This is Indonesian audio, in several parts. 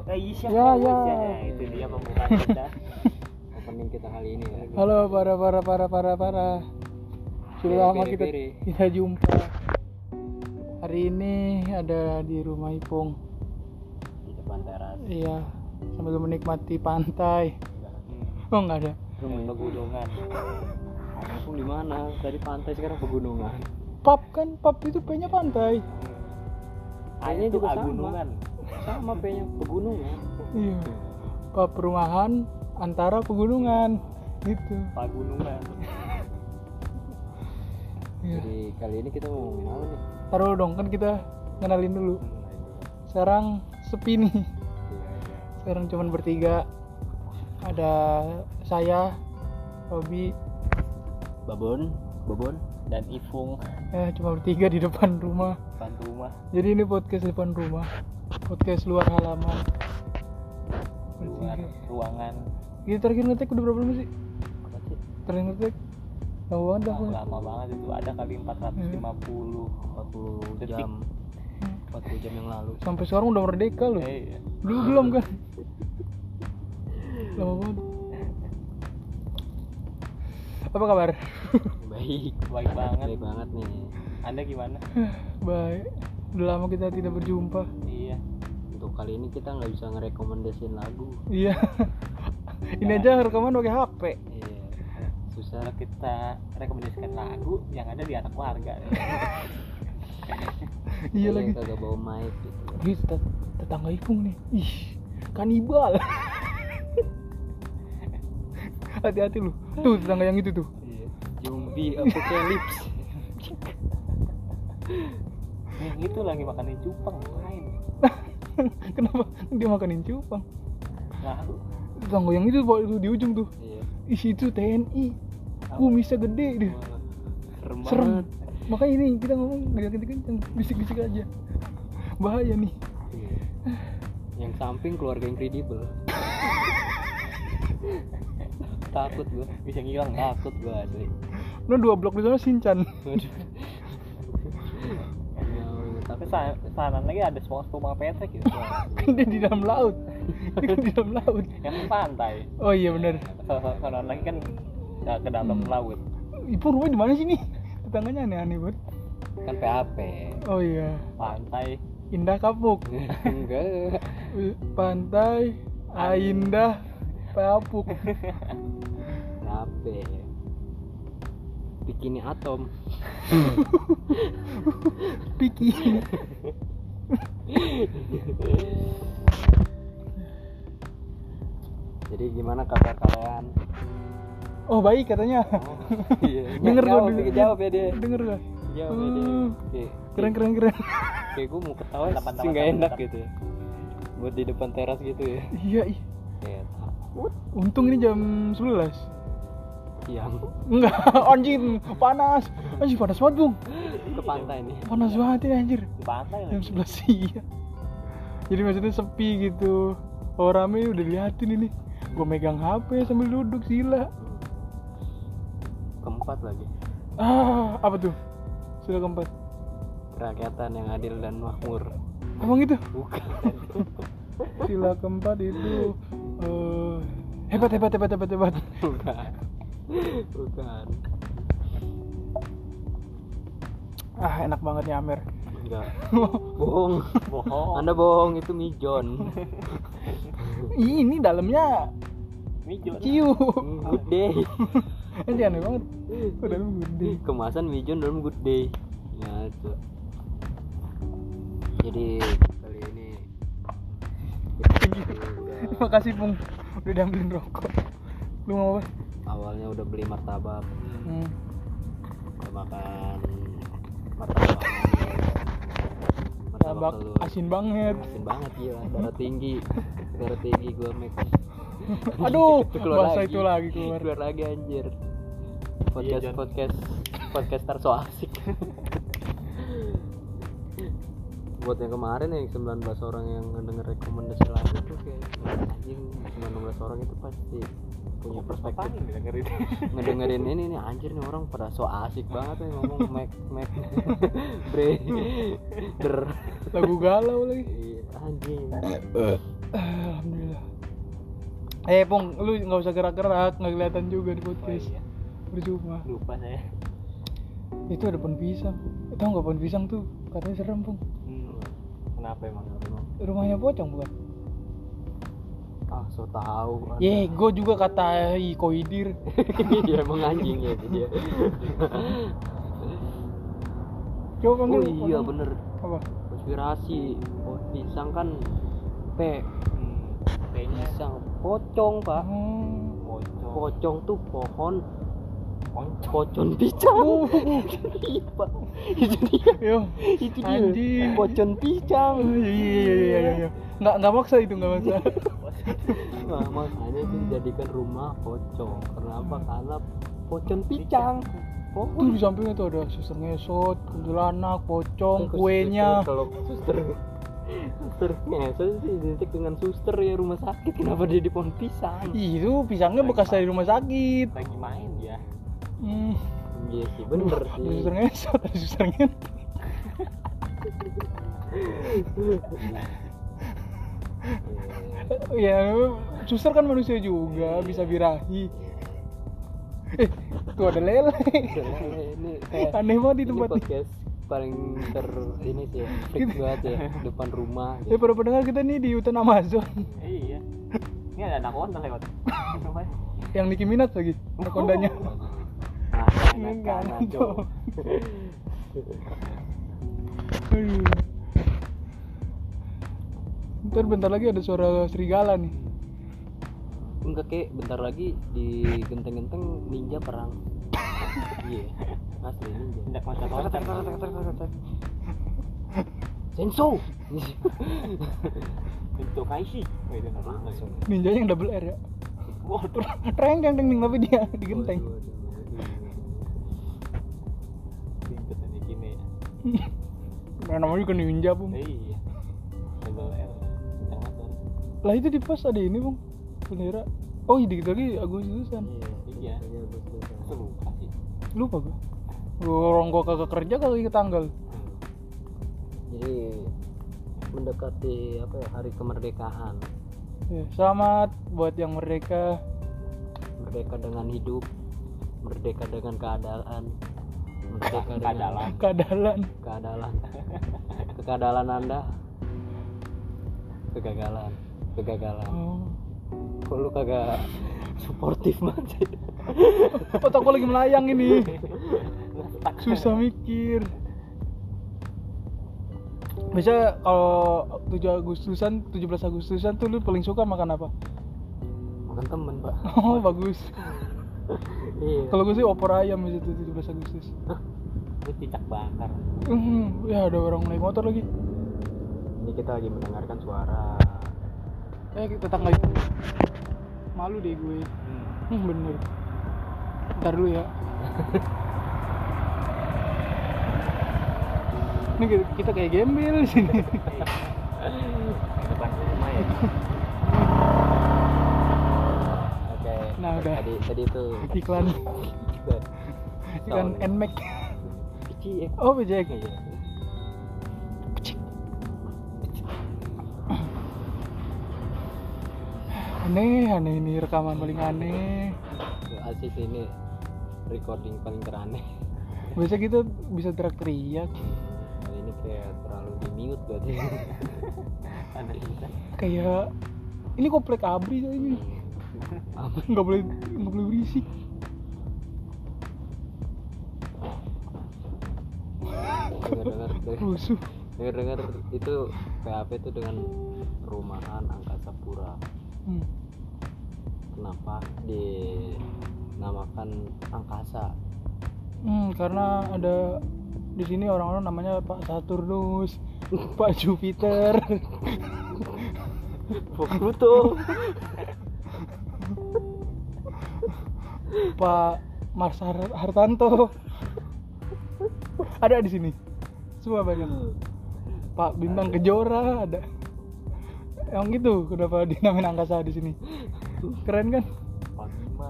Ya. Itu dia pembukaan kita. Opening kita kali ini ya. Halo para. Sudah lama kita jumpa. Hari ini ada di rumah Ipung. Di depan teras. Iya, sambil menikmati pantai. Oh enggak ada. Rumah pegunungan. Ipung di mana? Tadi pantai sekarang pegunungan. Pub itu P-nya pantai. A-nya juga gunungan. Sama P-nya pegunungan. Iya. Pub perumahan antara pegunungan gitu. Pegunungan. Iya. Jadi kali ini kita mau ngomongin apa nih? Taruh dong, kan kita kenalin dulu. Sekarang sepi nih. Sekarang cuma bertiga. Ada saya, Robi, Babon, dan Ipung. Cuma bertiga di depan rumah. Jadi ini podcast depan rumah. Podcast luar halaman. Luar ruangan. Kita terakhir ngetek udah berapa lama sih? Apa sih? Terakhir ngetek? Lama banget itu, ada kali 40 detik. Jam 40 jam yang lalu. Sampai sekarang udah merdeka loh. Iya. Dulu belum kan? Lama banget. Apa kabar? Baik banget nih. Anda gimana? Baik. Udah lama kita tidak berjumpa. Iya. Untuk kali ini kita nggak bisa ngerekomendasiin lagu. Iya. Ini aja rekaman pakai HP. Iya. Susah kita rekomendasikan lagu yang ada di anak warga. Iya lagi. Kagak bawa mic gitu. Ih, tetangga Ipung nih. Ih, kanibal. Hati-hati lu. Tuh tetangga yang itu tuh. Iya. Zombie apocalypse. Yang itu lagi makanin cupang lain. Kenapa dia makanin cupang? Lalu Tetangga yang itu di ujung tuh. iya. Isi itu TNI. Kumisnya gede deh. Serem. Makanya ini kita ngomong gak kenceng, bisik-bisik aja. Bahaya nih. Iya. Yang samping keluarga Incredible. Takut gua, bisa ngilang, takut gua asli. Nah 2 blok di sana Shinchan. Tapi sana lagi ada SpongeBob sama Patrick gitu. Kan dia di dalam laut. Yang pantai. Oh iya benar. Sana lagi kan ke dalam laut. Ipung rumah di mana sih nih? Tetangganya aneh-aneh banget. Kan PAP. Oh iya. Pantai. Indah Kapuk. Enggak. Pantai Indah Kapuk. PAP. Bikini Atom. Bikini. Jadi gimana kabar kalian? Oh baik katanya. Oh, iya. Denger gua jawab ya dia. Denger gak? Jawab ya dia. Oke. Keren. Kayak gue mau ketawa sih nggak enak gitu ya. Buat di depan teras gitu ya. Iya. Kayak Untung ini jam 11. siang Enggak, anjir, panas. Anjir panas banget, Bung. ke pantai nih. Panas banget ya anjir. Di pantai Jam lagi. 11 siang. Jadi maksudnya sepi gitu. Orang rame udah liatin ini. Gue megang HP sambil duduk sila. Keempat lagi. Apa tuh? Sila keempat. Kerakyatan yang adil dan makmur. Emang itu? Bukan. Sila keempat itu hebat. Bukan. Enak banget nih Amer. Enggak. Bohong. Anda bohong, itu Mijon. Ini dalamnya Mijon. ciu. Good day. Anjir aneh banget. Dalam good day. Kemasan Mijon dalam good day. Ya itu. Jadi kali ini Terima kasih Bung, udah diambilin rokok. Lu mau apa? awalnya udah beli martabak. Udah makan Martabak telur. asin banget. Asin banget gila, darah tinggi gua make. Aduh, keluar bahasa lagi. itu lagi keluar. Keluar lagi anjir. Iya, Podcaster so asik. Buat yang kemarin yang 19 orang yang ngedenger rekomendasi lagu tuh kayak anjing, 19 orang itu pasti punya perspektif ngedengerin ini nih, anjir nih orang pada so asik banget nih ngomong Mac Bre Der Lagu galau lagi. Iya, anjing. Alhamdulillah. Pong, lu nggak usah gerak-gerak, nggak kelihatan juga di podcast. Oh, iya. Percuma. Lupa saya. Itu ada pohon pisang. Tahu nggak pohon pisang tuh? Katanya serem, Pong. Kenapa emang? Rumahnya pocong bukan? Ah, so tahu. Gue juga kata koidir. Dia emang anjing ya dia. Coba panggil. Oh iya bener. Apa? Konspirasi. Oh, pisang kan P-nya pisang pocong, Pak. pocong. Pocong tuh pohon Poncong. pocong pisang. Iya, Pak. Itu dia. Yo, Itu dia. anjing. Pocong pisang. Iya. Nggak maksa itu, nggak maksa. Nah, makanya itu dijadikan rumah pocong. Kenapa? Karena pocong pisang. Tuh di sampingnya tuh ada suster ngesot, kuntilanak, pocong, kuenya. Kalau suster ngesot sih identik dengan suster ya rumah sakit. Kenapa dia di pohon pisang? Itu pisangnya bekas dari rumah sakit. Lagi main dia. Iya sih, bener Ada sih. suster ngesot, ada suster ngesot. Ya, suster kan manusia juga, bisa birahi. Tuh ada lele. Ini kayak Aneh banget di ini tempat ini. podcast paling ini sih ya, freak banget ya depan rumah. Ya para pendengar kita nih di hutan Amazon. Iya. Ini ada anak onta lewat. Yang Nicki Minaj lagi, kondanya. Enggak, tuh. Aduh. Ntar bentar lagi ada suara serigala nih. Enggak, kayak bentar lagi di genteng-genteng ninja perang. Iya, asli ninja. Tidak loncat-loncat. Senso. Bentuk Kaishi. Oh, itu nama langsung. Ninjanya yang double R ya. Wah, Treng tapi dia di genteng. ribet ini gini ya. Nah, namanya juga ninja, Bung. Iya. Double R. Bintang motor. Lah itu di pos ada ini, Bung. Bendera. Oh, dikit lagi Agustusan. Iya. Itu lupa sih. Lupa gua. Orang gua kagak kerja kagak inget tanggal. Jadi mendekati apa ya, hari kemerdekaan. Ya, selamat buat yang merdeka. Merdeka dengan hidup, merdeka dengan keadaan, merdeka dengan Keadalan. kekadalan Anda, kegagalan. Oh. Kok lu kagak suportif banget sih? Otak gua lagi melayang ini. Susah mikir. Biasa kalau 17 Agustusan tuh lu paling suka makan apa? Makan temen, Pak. Oh, bagus. Iya. Kalau gue sih opor ayam itu 17 Agustus. Itu cicak bakar. Ya ada orang naik motor lagi. Ini kita lagi mendengarkan suara. Tetangga itu. Malu deh gue. Bener. Ntar dulu ya. Ini kita kayak gembel di sini. Di depan rumah ya. Oke. Nah, udah. Tadi itu Iklan Nmax. Kecil. Oh, Bejek. Iya. Aneh ini rekaman paling aneh. Asis ini recording paling teraneh. Biasa kita bisa teriak-teriak. Kali ini kayak terlalu di mute berarti. Ada kita. Kayak ini komplek abri coy ini. Nggak boleh berisik. Rusuh. Dengar itu PHP itu dengan perumahan Angkasa Pura. Kenapa dinamakan Angkasa? Karena ada di sini orang-orang namanya Pak Saturnus, Pak Jupiter, Pak Pluto, Pak Mars Hartanto. Ada di sini. Semua banyak. Pak Bintang Kejora ada. Yang gitu kenapa dinamain angkasa di sini? Keren kan? Pak Bima.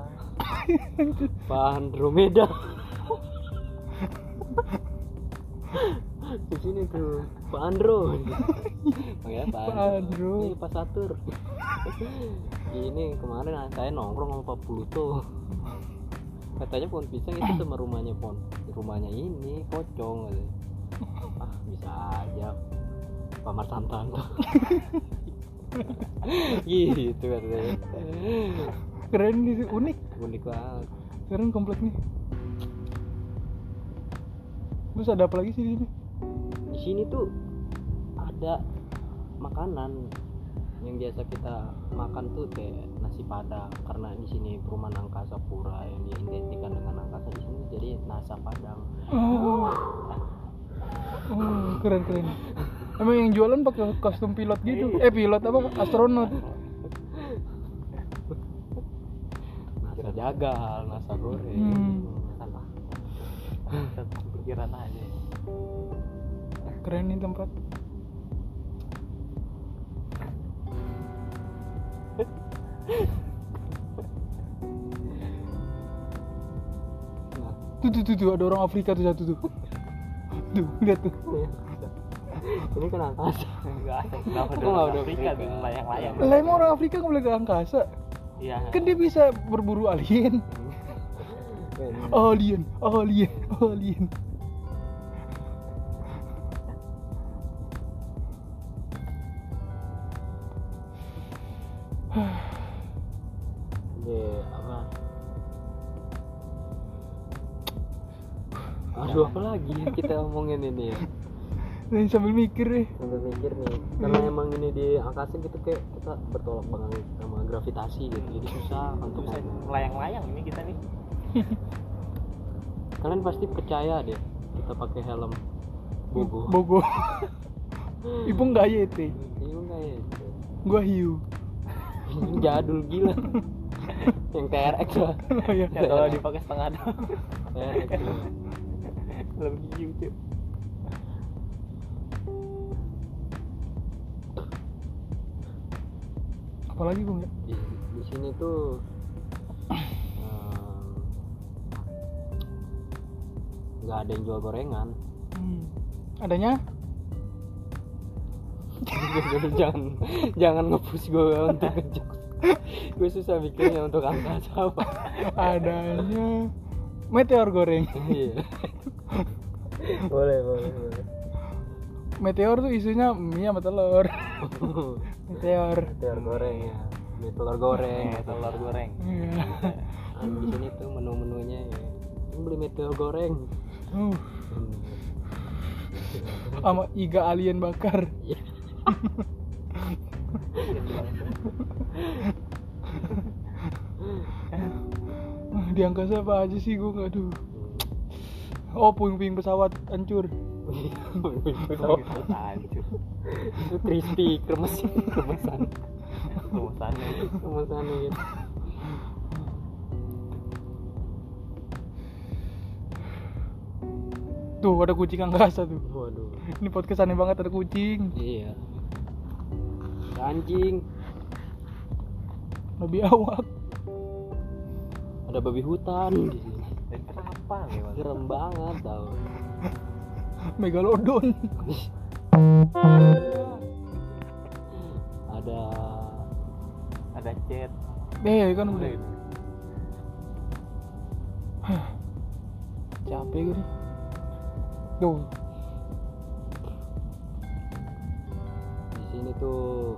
Pak Andromeda. Di sini tuh Pak Andro. Panggilnya Pak Pak Andro. Ini Pak Satur. Ini kemarin saya nongkrong sama Pak Pluto. Katanya pohon pisang itu sama rumahnya rumahnya ini pocong katanya. Ah bisa aja Pak Martanto. Gitu katanya. Keren nih, unik Banget. keren kompleknya. Terus ada apa lagi sih di sini? Di sini tuh ada makanan yang biasa kita makan tuh kayak nasi padang, karena di sini perumahan angkasa pura yang diidentikan dengan angkasa, di sini jadi nasi padang. Oh, keren. Emang yang jualan pakai kostum pilot gitu? Pilot apa? Astronot. Nasi jagal, nasi goreng. salah satu pikiran aja. Keren nih tempat. Tuh ada orang Afrika tuh satu tuh. Tuh, lihat tuh. Ini kan angkasa. Enggak ada. Kenapa Kok nggak ada Afrika Afrika? tuh layang-layang? Lah emang orang Afrika nggak boleh ke angkasa? Iya. Kan dia bisa berburu alien. Alien. Apa? Aduh, apa lagi yang kita omongin ini ya? Nih sambil mikir nih. Sambil mikir nih, karena emang ini di angkasa gitu kayak kita bertolak belakang sama gravitasi gitu, jadi susah untuk Bisa ngomong. melayang-layang ini kita nih. Kalian pasti percaya deh kita pakai helm bogo. Bogo. Ibu nggak yete. Iya enggak ya? Gua hiu. Ini jadul gila. Yang TRX lah. Oh, iya. Ya kalau dipakai setengah doang. TRX. Lebih hiu cuy. Apalagi Bung ya? Di sini tuh nggak ada yang jual gorengan. Adanya? jangan nge-push gue untuk ngejokes. Gue susah mikirnya untuk angkasa apa. Adanya meteor goreng. Iya. boleh. Meteor tuh isunya mie sama telur. Meteor. Telur goreng ya. Mie telur goreng. Telur goreng. Iya. Di sini tuh menu-menunya ya. Beli mie telur goreng. Sama iga alien bakar. Di angkasa apa aja sih gue nggak aduh. Oh, puing-puing pesawat hancur. Hancur. Itu crispy kremesan Rumusannya. gitu. Tuh ada kucing angkasa tuh. Waduh. Ini podcast aneh banget ada kucing. Iya. Anjing. Lebih awak. Ada babi hutan di sini. Dan kenapa nih mas? Serem banget tau. Megalodon. Ada chat. Kan udah. Capek gue nih. Tuh. Di sini tuh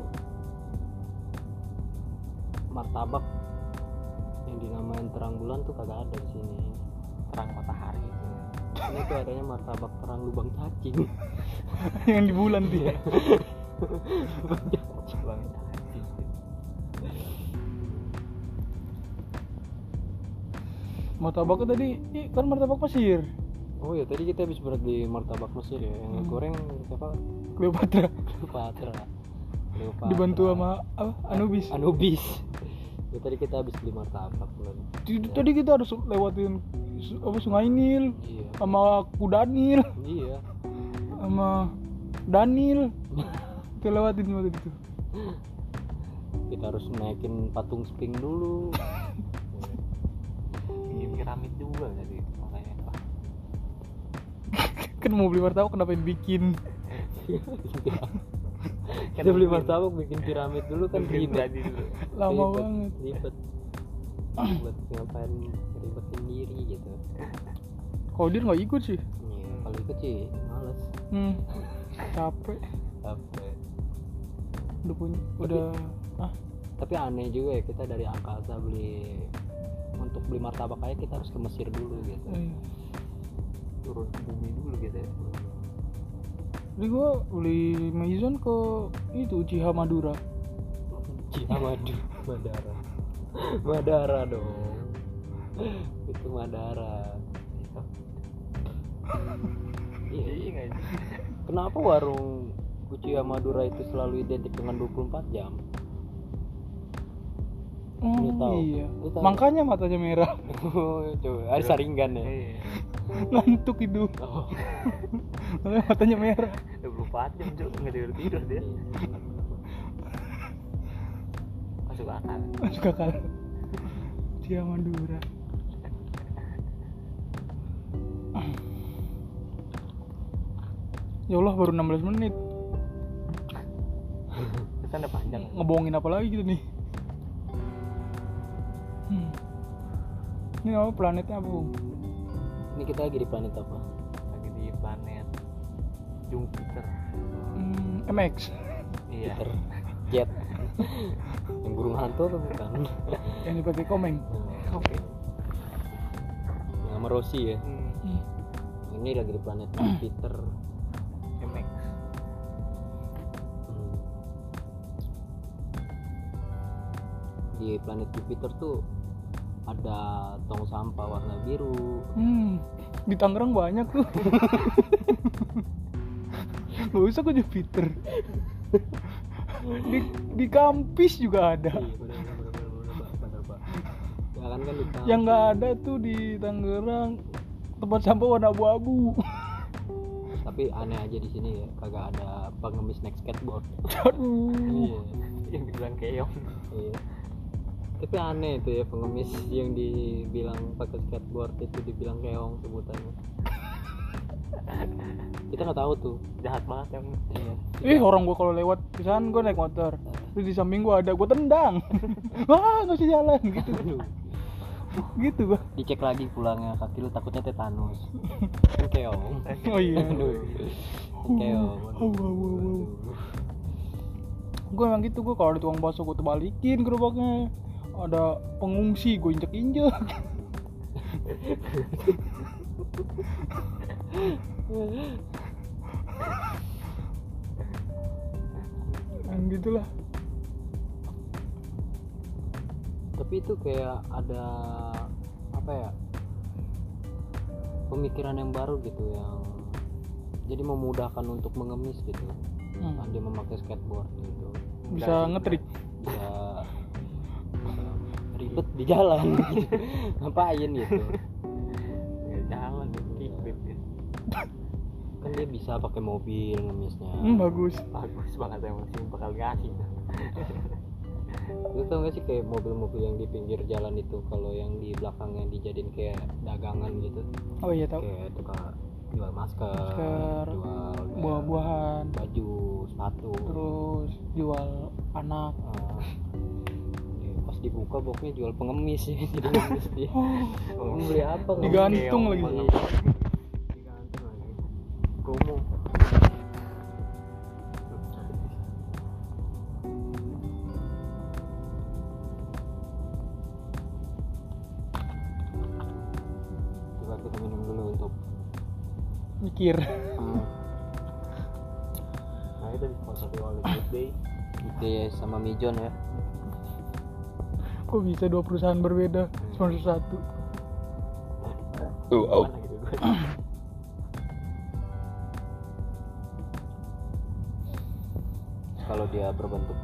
martabak yang dinamain terang bulan tuh kagak ada di sini. Terang matahari itu. Ini tuh adanya martabak terang lubang cacing. Yang di bulan dia. Bang cacing. Martabaknya tadi kan martabak Mesir. Oh ya, tadi kita habis beli martabak Mesir ya. Yang goreng siapa? Cleopatra. Cleopatra. Dibantu sama apa? Anubis. Ya, tadi kita habis beli martabak belum. Tadi kita harus lewatin Sungai Nil Iya. sama Kuda Nil Iya. sama Danil. Kita lewatin semua tadi tuh. Kita harus naikin patung Sphinx dulu. Bikin piramid juga tadi makanya. Kan mau beli martabak kenapa yang bikin? Kita beli martabak bikin piramid dulu kan ribet. Lama Ribet, banget. Ribet ngapain ribetin diri gitu. Kalau dia nggak ikut sih. Iya, kalau ikut sih males. Capek. Udah Tapi aneh juga ya, kita dari Angkasa untuk beli martabak aja kita harus ke Mesir dulu gitu. Turun ke bumi dulu gitu ya. Jadi gue beli Maison ke itu Uchiha Madura. Madara dong. Itu Madara. Iya. Kenapa warung Uchiha Madura itu selalu identik dengan 24 jam? Lu tahu? Iya. Lu tahu? Makanya matanya merah. Coba, ada saringan ya. Ngantuk itu. Oh. Matanya merah. 24 jam Cuk, nggak tidur dia. Masuk akal. Masuk akal. Uchiha Madura. Ya Allah, baru 16 menit. Kita udah panjang. Ngebohongin apa lagi gitu nih? Ini apa planetnya apa, Bung? Ini kita lagi di planet apa? Lagi di planet Jupiter. MX. Iya. Jupiter Jet. Yang burung hantu atau bukan? Yang dipakai komeng. Oke. Nama Rossi ya. Ini lagi di planet Jupiter. MX. Di planet Jupiter tuh ada tong sampah warna biru. Di Tangerang banyak tuh. Gak usah ke Jupiter. Di Kampis juga ada. Iya, benar, Pak. Ya kan di Kampis. Yang nggak ada tuh di Tangerang tempat sampah warna abu-abu. Tapi aneh aja di sini ya, kagak ada pengemis naik skateboard. Aduh. Iya. Yang dibilang keong. Iya. Tapi aneh itu ya, pengemis yang dibilang pakai skateboard itu dibilang keong sebutannya. Kita nggak tahu tuh. Jahat banget yang. Iya. Orang gua kalau lewat pisan gua naik motor. Terus di samping gua ada, gua tendang. Wah, nggak bisa jalan gitu. Aduh. Gitu gua. Dicek lagi pulangnya, kaki lu takutnya tetanus. Kan keong. Oh iya. Aduh. Keong. Aduh. Gue emang gitu, gue kalau ada tukang bakso gue terbalikin gerobaknya. Ada pengungsi gue injek-injek. Yang gitulah. Tapi itu kayak ada apa ya, pemikiran yang baru gitu, yang jadi memudahkan untuk mengemis gitu. Dia memakai skateboard gitu, Bisa ngetrik. bisa ribet di jalan gitu. Ngapain gitu, Ya, jalan kickflip ya. kan dia bisa pakai mobil ngemisnya. Bagus. Bagus banget emang sih, bakal ngasih. Lu tau gak sih kayak mobil-mobil yang di pinggir jalan itu, kalau yang di belakangnya dijadiin kayak dagangan gitu. Oh iya tahu. Kayak tukang jual masker, jual buah-buahan, baju, sepatu, terus jual anak. Pas dibuka boxnya jual pengemis ya. Jadi ngemis dia. Mau beli apa? Digantung lagi. Digantung lagi. Promo. Coba kita minum dulu untuk Mikir. Nah itu disponsori oleh Good Day. Gede sama Mijon ya. Kok bisa dua perusahaan berbeda sponsor satu? Mana gitu gue. Kalau dia berbentuk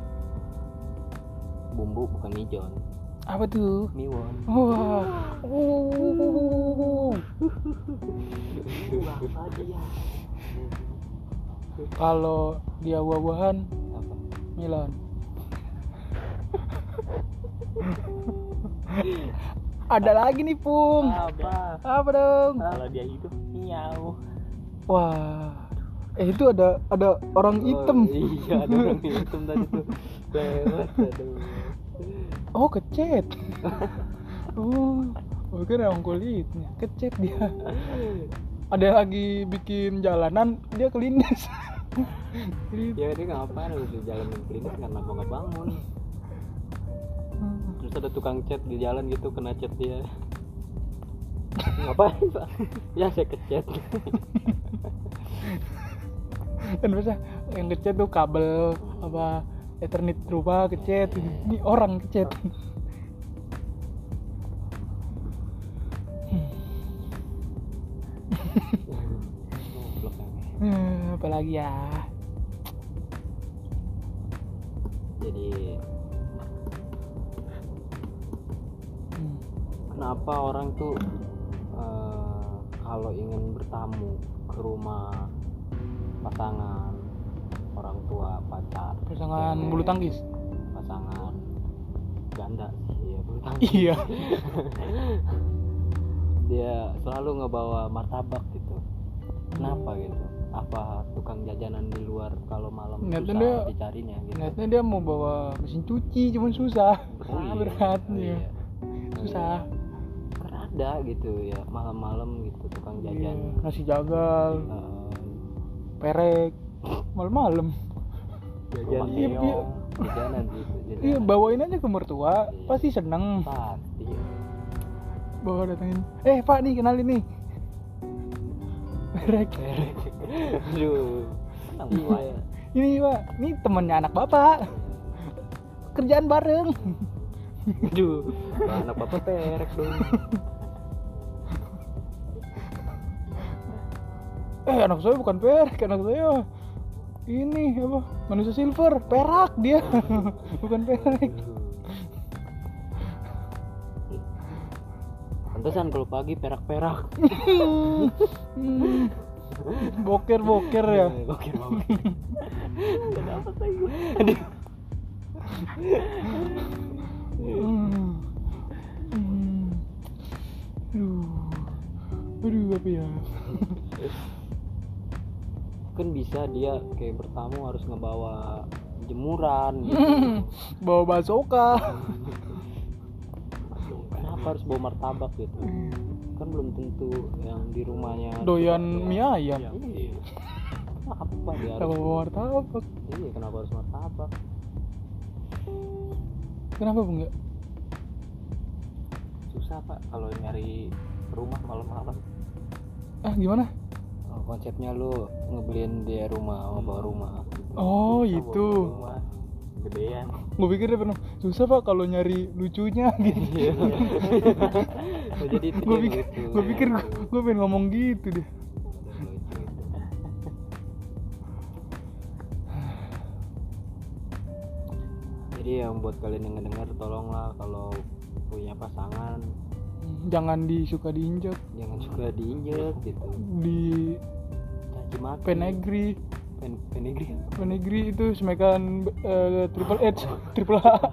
bumbu bukan Mijon, Apa tuh? Miwon. Wah. Apa dia? Kalau dia buah-buahan, Apa? Milan. Ada lagi nih, Pung. Apa? Apa dong? Kalau dia hidup miau. Wah. Itu ada orang hitam. Iya, ada orang hitam tadi tuh. Lewat, aduh. Oh, kecet. Oh, bukan orang kulitnya. Kecet dia. Ada yang lagi bikin jalanan, dia kelindes. Ya dia ngapain harus di jalan yang klinis karena nggak bangun. Terus ada tukang cat di jalan gitu, kena cat dia. Ngapain Pak? Ya saya kecet. Kan biasa yang kecet tuh kabel apa Ethernet rumah kecet. Ini orang kecet. Goblok kan. Apalagi ya. Jadi kenapa orang tuh kalau ingin bertamu ke rumah pasangan, orang tua, pacar, Pasangan cewek, bulu tangkis. pasangan ganda sih ya, bulu tangkis. Iya. Dia selalu ngebawa martabak gitu. Kenapa gitu? Apa tukang jajanan di luar kalau malam Ternyata susah dia- dicarinya gitu? Ternyata dia mau bawa mesin cuci, cuman susah. Oh iya. Berat Oh nih. iya. Susah. Karena ada gitu ya malam-malam gitu tukang Iya, jajan. nasi jagal, Eh, perek, malam-malam. jajan Iya, iya. jajanan gitu. Iya, bawain aja ke mertua, pasti seneng. Pasti. Bawa datengin. Pak nih, kenalin nih. Perek. Aduh. Iya. Ini Pak, ini temennya anak bapak. Kerjaan bareng. Aduh. Anak bapak perek dong. Anak saya bukan perek, anak saya ini apa? Manusia silver, perak dia. Bukan perek. Pantesan kalau pagi perak-perak. Hmm. Boker ya. Oke, oke. Gak dapet lagi. Hmm. Hmm. Aduh, apa ya? Kan bisa dia kayak bertamu harus ngebawa jemuran gitu. Bawa basoka. Kenapa harus bawa martabak gitu? Kan belum tentu yang di rumahnya Doyan mie ayam. Iya. Kenapa dia harus? Kalau bawa martabak. Iya, kenapa harus martabak? Kenapa Bu enggak? Susah Pak kalau nyari rumah malam-malam. Gimana? Oh, konsepnya lu ngebeliin dia rumah, ngebawa rumah. Oh, Susah itu. bawa rumah. Gedean. Gue pikir dia pernah susah Pak kalau nyari lucunya gitu. Iya. Oh, jadi itu Gue dia pikir, gitu. gue pikir gue pengen ngomong gitu deh. Lucu itu. Jadi yang buat kalian yang ngedengar, tolonglah kalau punya pasangan Jangan disuka diinjak jangan suka diinjek gitu, di caci maki. penegri. Penegri. Penegri itu semekan triple H, triple H.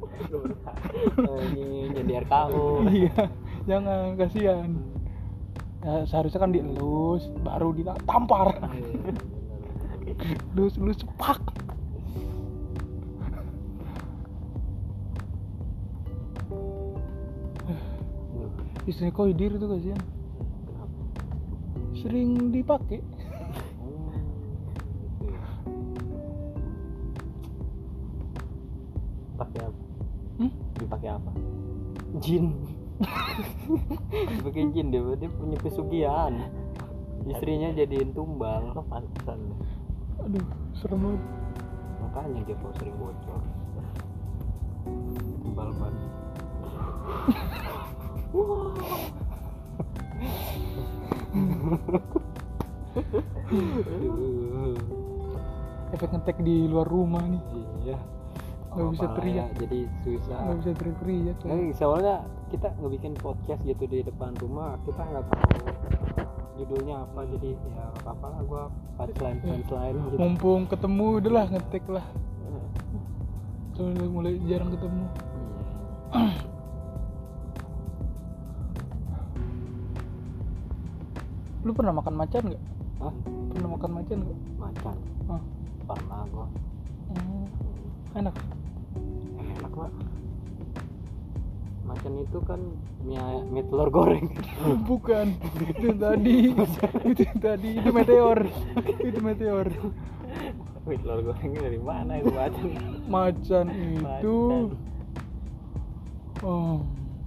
Ini jadi RKO. Iya, jangan, kasihan. Ya, seharusnya kan dielus, baru ditampar. Elus sepak. Istrinya Koidir itu kasihan. Sering dipakai. Pakai apa? Dipakai apa? Jin. Pakai jin dia punya pesugihan. Istrinya jadiin tumbal. Oh, pantesan. Aduh, serem banget. Makanya dia kok sering bocor. Tumbal ban. Efek ngetek di luar rumah nih. Iya. Nggak bisa Apa-apa teriak. ya, jadi susah. Nggak bisa teriak-teriak. Soalnya kita ngebikin podcast gitu di depan rumah, kita nggak tahu judulnya apa, jadi ya nggak apa-apa lah, gua punchline gitu. Mumpung ketemu, udahlah ngetek lah. Soalnya mulai jarang ketemu. Iya. Lu pernah makan macan nggak? Hah? Pernah makan macan nggak? Macan Ah. pernah gua. Enak. Enak pak. Macan itu kan mie telur goreng. Bukan. Itu tadi. Itu meteor. Wih, telur gorengnya dari mana itu macan? Macan itu. Oh.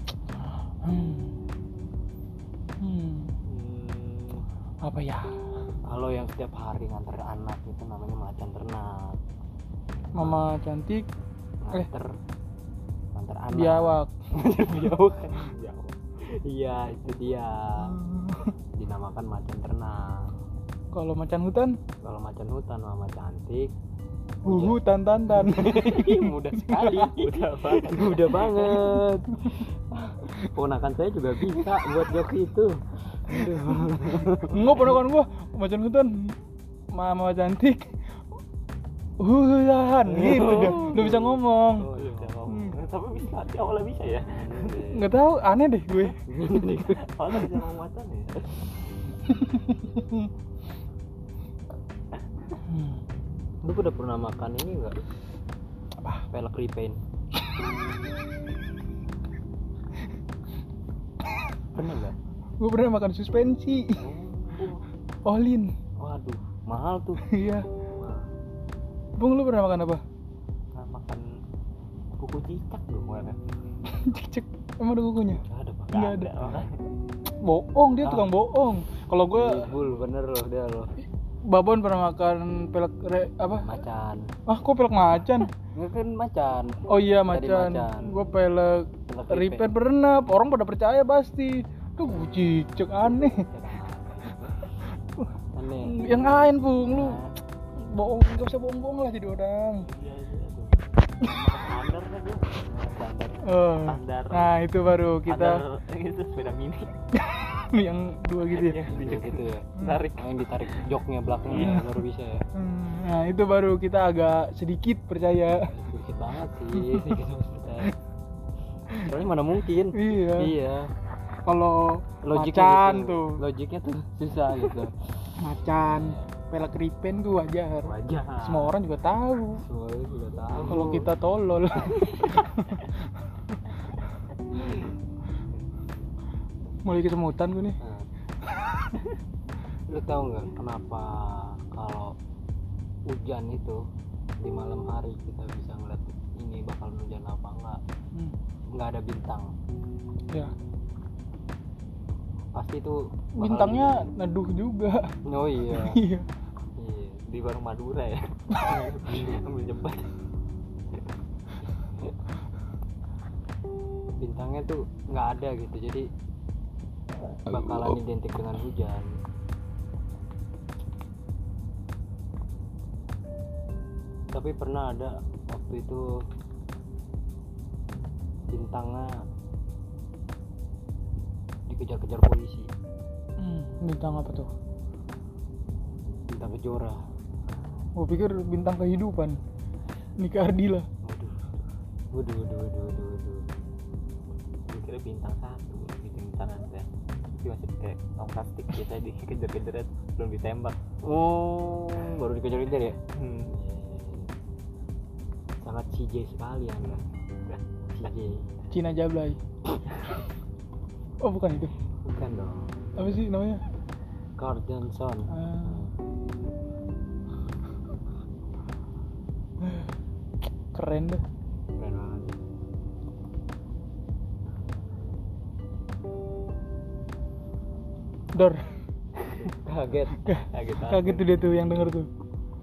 Apa ya? Kalau yang setiap hari nganter anak itu namanya macan ternak. Mama cantik. Nganter anak. Biawak. Biawak. Iya itu dia. Dinamakan macan ternak. Kalau macan hutan, Kalau macan hutan mama cantik. tantan. Mudah sekali. Mudah banget. Ponakan saya juga bisa buat jok itu. Enggak, ponakan gua macan hutan. Mama cantik. Hutan gitu dia. Udah bisa ngomong. Oh, iya, tapi bisa, awalnya bisa ya. Enggak tahu, aneh deh gue. Awalnya bisa ngomong macan ya. Lu udah pernah makan ini enggak? Apa? Pelek ripen. Pernah enggak? Gue pernah makan suspensi. Olin. Waduh, mahal tuh. Iya. Bung, lu pernah makan apa? Nah, makan kuku cicak dong mana? Cek. Emang ada kukunya? Ada Pak. Nggak ada. Makanya. Bohong, dia tukang bohong. Kalau gue Bul, bener loh dia loh. Babon pernah makan pelek apa? Macan. Kok pelek macan? Enggak kan macan. Oh iya, Tadi macan. macan. Gue pelek Pelek ripen pernah. Orang pada percaya pasti. Tuh cicek aneh. Aneh. Yang lain, Bung, lu bohong, enggak usah bohong-bohong lah jadi orang. Iya tuh. Standar kan dia. Standar. Nah, itu baru kita Standar itu sepeda mini. yang dua gitu ya. Iya gitu ya. Tarik. Yang ditarik joknya belakangnya baru bisa ya. Nah, itu baru kita agak sedikit percaya. Sedikit banget sih. Sedikit percaya. Soalnya mana mungkin. Iya. Kalau Logiknya macan gitu. tuh, Logiknya tuh susah gitu. macan, pelek ripen tuh wajar. Wajar. Semua orang juga tahu. Semua orang juga tahu. Kalau kita tolol. Mulai kesemutan gue nih. Nah. Lu tahu nggak kenapa kalau hujan itu di malam hari kita bisa ngeliat ini bakal hujan apa enggak? Nggak ada bintang. Ya, Pasti itu bakal bintangnya hujan. neduh juga. Oh iya. Iya. Iya. Di warung Madura ya. Ambil jembat. Bintangnya tuh nggak ada gitu, jadi bakalan identik dengan hujan. Tapi pernah ada waktu itu bintangnya dikejar-kejar polisi. Bintang apa tuh? Bintang Kejora. Gue pikir bintang kehidupan. Nika Ardila. Waduh. Gue kira bintang satu gitu bintang ada. Tapi masih pakai tong plastik kita dikejar-kejar belum ditembak. Oh, baru dikejar-kejar ya? Hmm. Sangat CJ sekali Anda. CJ. Cina Jablay. Oh, bukan itu. Bukan dong. Apa sih namanya? Carl Johnson. Keren deh. Keren banget. Dor. Kaget. Kaget tuh dia tuh yang denger tuh.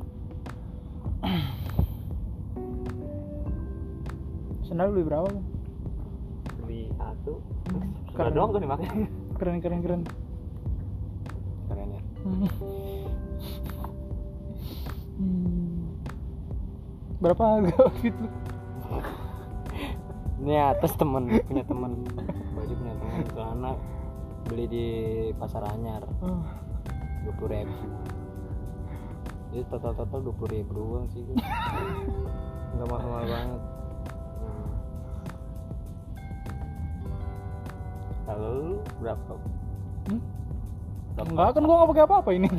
Sendal beli berapa, Bang? Beli satu. Keren. Sudah doang tuh dimakai. Keren. Keren ya. Berapa harga outfit lu? Ini atas punya teman. Baju punya teman, celana beli di Pasar Anyar. 20.000. Jadi total 20.000 doang sih. Enggak mahal banget. Kalau lu berapa? Enggak, kan gua nggak pakai apa-apa ini.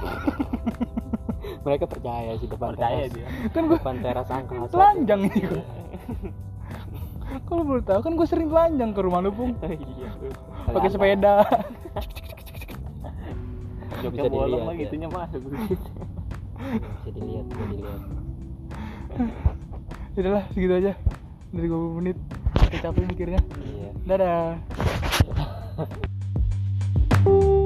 Mereka percaya sih depan Percaya teras. dia. Kan gua Depan teras angkasa. telanjang ini gua. Kalau boleh tahu kan gua sering telanjang ke rumah lu, Pung. Iya. Pakai sepeda. Joknya Bisa bolong dilihat, mah ya. gitunya masuk. Bisa dilihat, bisa dilihat. Udahlah, segitu aja. Dari 20 menit. Udah capek mikirnya. Iya. Dadah.